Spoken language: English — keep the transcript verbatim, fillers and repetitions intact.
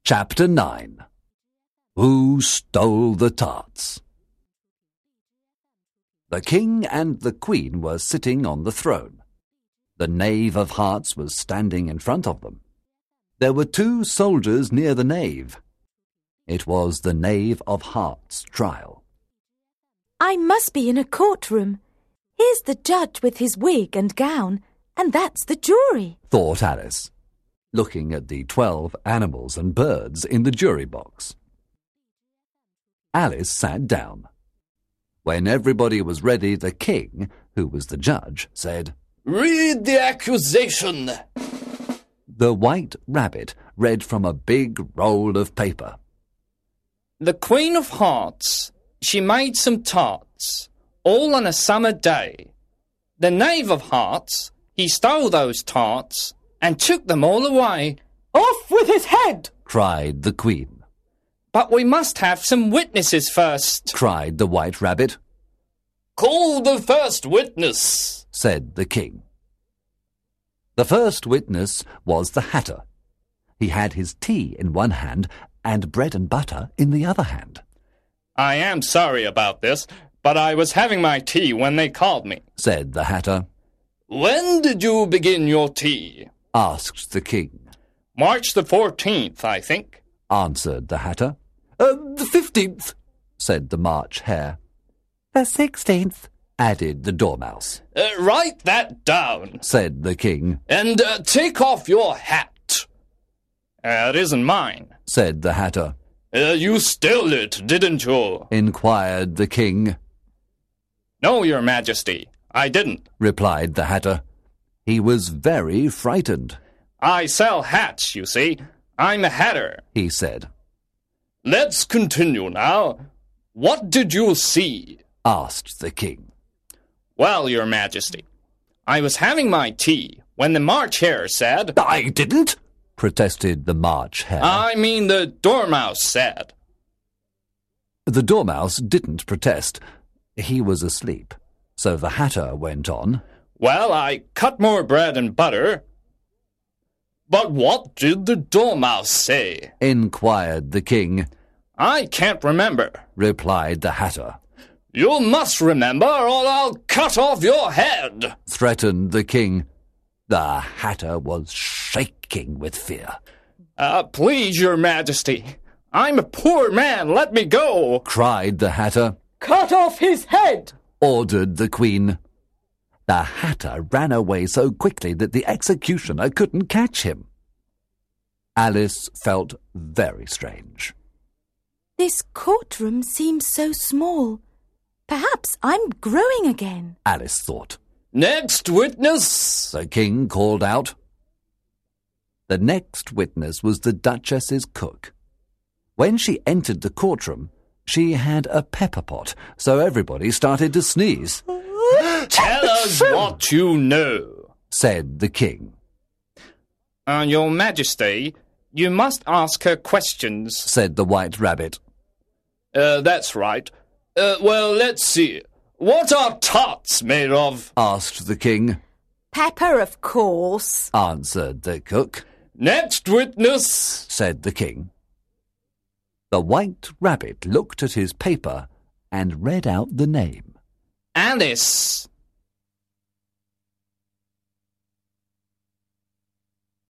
Chapter nine. Who Stole the Tarts? The king and the queen were sitting on the throne. The knave of hearts was standing in front of them. There were two soldiers near the knave. It was the knave of hearts' trial. I must be in a courtroom. Here's the judge with his wig and gown, and that's the jury, thought Alice, looking at the twelve animals and birds in the jury box. Alice sat down. When everybody was ready, the king, who was the judge, said, "Read the accusation." The White Rabbit read from a big roll of paper. The Queen of Hearts, she made some tarts, all on a summer day. The Knave of Hearts, he stole those tarts and took them all away. "Off with his head!" cried the Queen. "But we must have some witnesses first," cried the White Rabbit. "Call the first witness," said the king. The first witness was the Hatter. He had his tea in one hand and bread and butter in the other hand. "I am sorry about this, but I was having my tea when they called me," said the Hatter. "When did you begin your tea?" asked the king. "March the fourteenth, I think," answered the Hatter. Uh, the fifteenth, said the March Hare. The sixteenth, added the Dormouse. Uh, write that down, said the king. And uh, take off your hat. Uh, it isn't mine, said the Hatter. Uh, you stole it, didn't you? Inquired the king. No, your majesty, I didn't, replied the Hatter. He was very frightened. I sell hats, you see. I'm a hatter, he said. Let's continue now. What did you see? Asked the king. Well, your majesty, I was having my tea when the March Hare said... I didn't, protested the March Hare. I mean the Dormouse said. The Dormouse didn't protest. He was asleep. So the Hatter went on. Well, I cut more bread and butter. But what did the Dormouse say? Inquired the king. I can't remember, replied the Hatter. You must remember, or I'll cut off your head, threatened the king. The Hatter was shaking with fear. Uh, please, your majesty, I'm a poor man, let me go, cried the Hatter. Cut off his head, ordered the queen. The Hatter ran away so quickly that the executioner couldn't catch him. Alice felt very strange. This courtroom seems so small. Perhaps I'm growing again, Alice thought. Next witness, the king called out. The next witness was the Duchess's cook. When she entered the courtroom, she had a pepper pot, so everybody started to sneeze. Tell us what you know, said the king. Uh, your majesty, you must ask her questions, said the White Rabbit. Uh, that's right. Uh, well, let's see. What are tarts made of? Asked the king. Pepper, of course, answered the cook. Next witness, said the king. The White Rabbit looked at his paper and read out the name. Alice.